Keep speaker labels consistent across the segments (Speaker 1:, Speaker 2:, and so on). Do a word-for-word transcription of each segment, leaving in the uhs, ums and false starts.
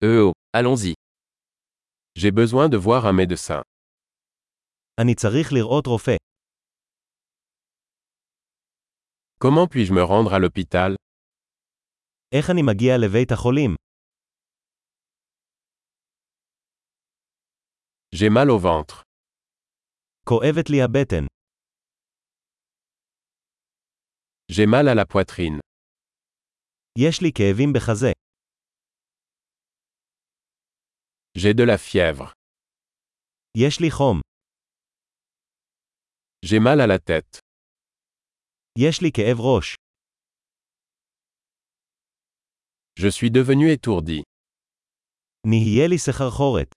Speaker 1: Euh oh, allons-y.
Speaker 2: J'ai besoin de voir un médecin.
Speaker 3: אני צריך לראות רופא.
Speaker 2: Comment puis-je me rendre à l'hôpital?
Speaker 3: איך אני מגיע לבית החולים?
Speaker 2: J'ai mal au ventre.
Speaker 3: כואבת לי הבטן.
Speaker 2: J'ai mal à la poitrine.
Speaker 3: יש לי כאבים בחזה.
Speaker 2: J'ai de la fièvre.
Speaker 3: יש לי חום.
Speaker 2: J'ai mal à la tête.
Speaker 3: יש לי כאב ראש.
Speaker 2: Je suis devenu étourdi.
Speaker 3: נהיה לי סחרחורת.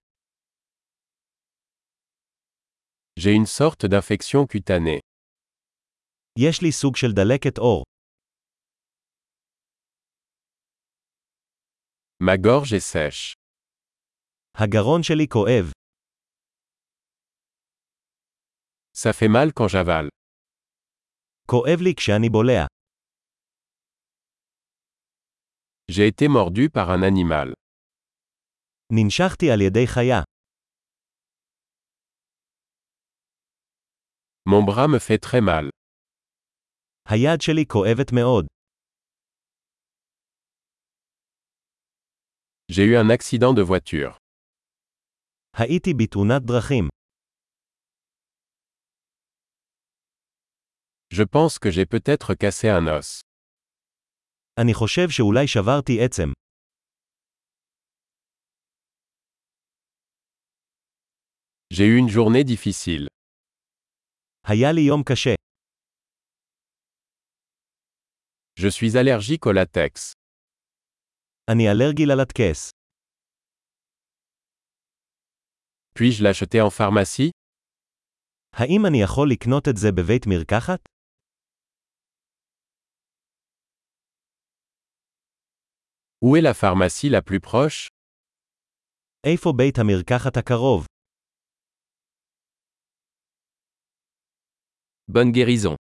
Speaker 2: J'ai une sorte d'infection cutanée.
Speaker 3: יש לי סוג של דלקת עור.
Speaker 2: Ma gorge est sèche.
Speaker 3: הגרון שלי כואב.
Speaker 2: Ça fait mal quand j'avale.
Speaker 3: כואב לי כשאני בולע.
Speaker 2: J'ai été mordu par un animal.
Speaker 3: ננשכתי על ידי חיה.
Speaker 2: Mon bras me fait très mal.
Speaker 3: היד שלי כואבת מאוד.
Speaker 2: J'ai eu un accident de voiture.
Speaker 3: הייתי בתאונת דרכים.
Speaker 2: Je pense que j'ai peut-être cassé un os.
Speaker 3: אני חושב שאולי שברתי עצם.
Speaker 2: J'ai eu une journée difficile.
Speaker 3: היה לי יום קשה.
Speaker 2: Je suis allergique au latex.
Speaker 3: אני אלרגי ללטקס.
Speaker 2: Puis-je l'acheter en pharmacie?
Speaker 3: האם אני יכול לקנות את זה בבית מרקחת?
Speaker 2: Où est la pharmacie la plus proche?
Speaker 3: איפה בית המרקחת הקרוב?
Speaker 1: Bonne guérison.